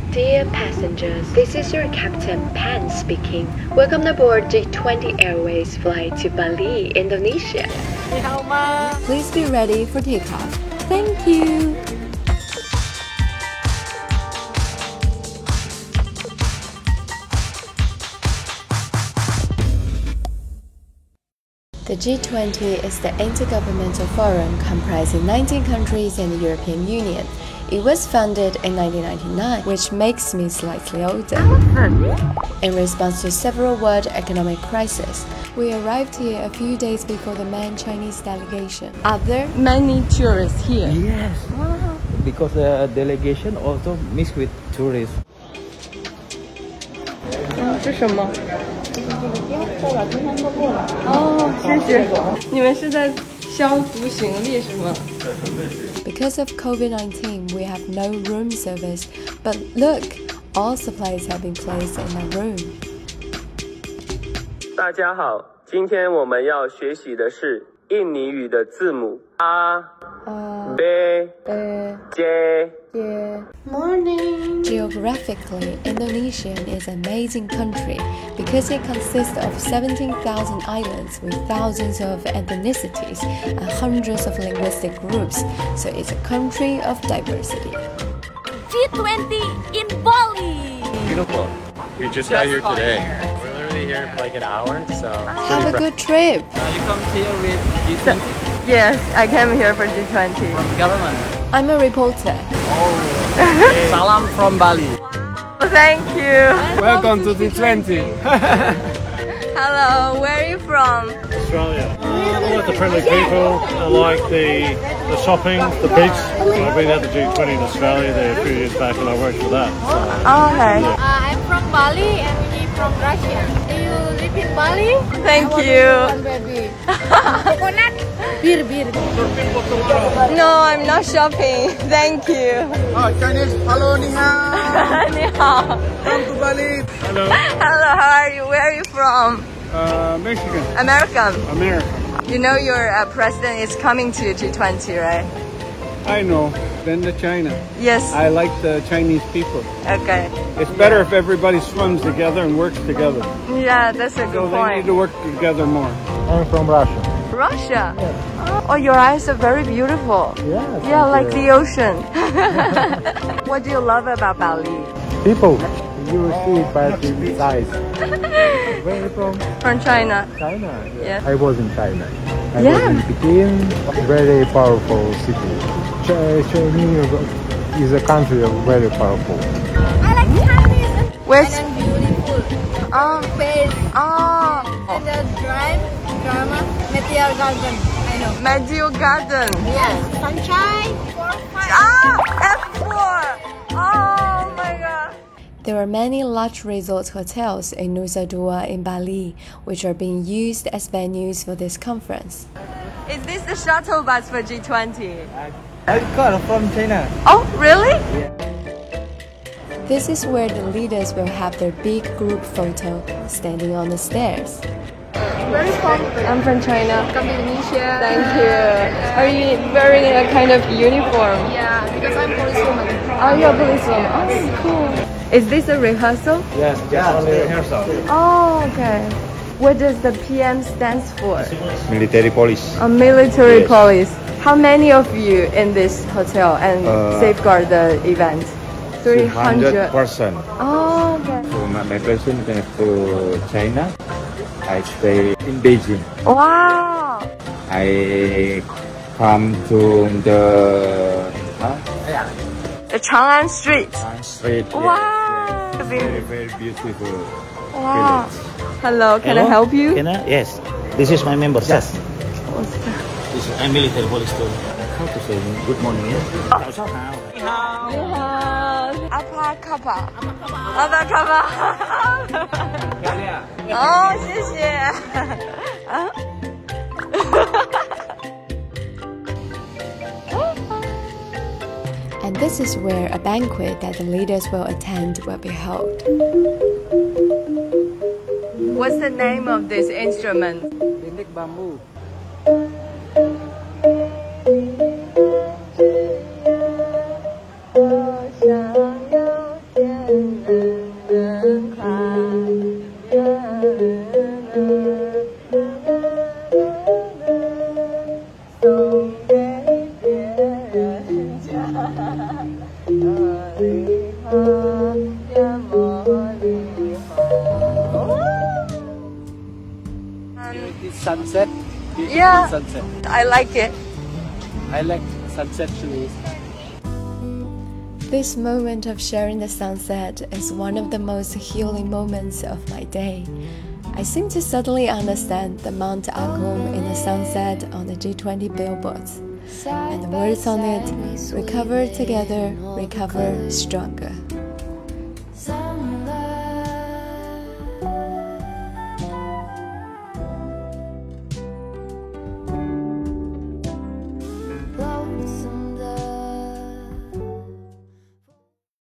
Dear passengers, this is your Captain Pan speaking. Welcome aboard G20 Airways flight to Bali, Indonesia. Please be ready for takeoff. Thank you. The G20 is the intergovernmental forum comprising 19 countries in the European Union. It was founded in 1999, which makes me slightly older. In response to several world economic crises, we arrived here a few days before the main Chinese delegation. Are there many tourists here? Yes, because the delegation also mixed with tourists. 这是什么？哦，谢谢。你们是在消毒行李是吗？ Because of COVID-19, we have no room service. But look, all supplies have been placed in a room. 大家好，今天我们要学习的是印尼语的字母 A, B, J. Morning. Geographically, Indonesia is an amazing country because it consists of 17,000 islands with thousands of ethnicities and hundreds of linguistic groups, so it's a country of diversity. G20 in Bali! Beautiful. We just got here today. We're literally here for like an hour, so... Have a good trip! You come here with G20 Yes, I came here for G20. from government. I'm a reporter. Salam from Bali. Thank you! Welcome to G20. Hello, where are you from? Australia. I like the friendly people. I like the shopping, the beach. I've been at the G20 in Australia there a few years back, and I worked for that. Oh, okay. I'm from Bali and we from Russia. Do you live in Bali? Thank you. Baby. Coconut? Beer. No, I'm not shopping. Thank you. Chinese. Hello, ni hao. Ni hao. Come to Bali. Hello. Hello, how are you? Where are you from? Michigan. American. America. You know your president is coming to G20, right? I know. Then the China. Yes. I like the Chinese people. Okay. It's better if everybody swims together and works together. Yeah, that's a So good they point. need to work together more. I'm from Russia. Russia? Oh, your eyes are very beautiful. Yeah, like the ocean. What do you love about Bali? People, you will see it by the eyes. Where are you from? From China. China. Yeah. I was in China. I Yeah. was in Peking, very powerful city. China is a country very powerful. I like Chinese. Where's... And beautiful. Oh. Face. Oh. And the drama, Meteor Garden. I know. Medio Garden. Yes. Sunshine. F4. Oh my god. There are many large resort hotels in Nusa Dua in Bali, which are being used as venues for this conference. Is this the shuttle bus for G20? I got from China. Oh, really? This is where the leaders will have their big group photo standing on the stairs. Where are you from? I'm from China. Come to Indonesia. Thank you. Are you wearing a kind of uniform? Yeah, because I'm policewoman. Oh, you're a policewoman. Oh, that's cool. Is this a rehearsal? Yes, just only rehearsal. Oh, okay. What does the PM stands for? Military police. A military police. How many of you in this hotel and safeguard the event? 300. person. Oh, okay. So my person went to China. I stay in Beijing. Wow. I come to the Chang'an Street. street. Wow. Very, very beautiful. Wow. Hello, can I help you? Yes. This is my member. Yes. What's that? This is I'm military police too. How to say good morning? Ni hao. Apa kapa? Apa kapa? Oh, 谢谢。And this is where a banquet that the leaders will attend will be held. What's the name of this instrument? Lindik bambu. sunset. Beautiful Yeah. sunset. I like it. I like sunset too. This moment of sharing the sunset is one of the most healing moments of my day. I seem to suddenly understand the Mount Agung in the sunset on the G20 billboards, and the words on it: recover together, recover stronger.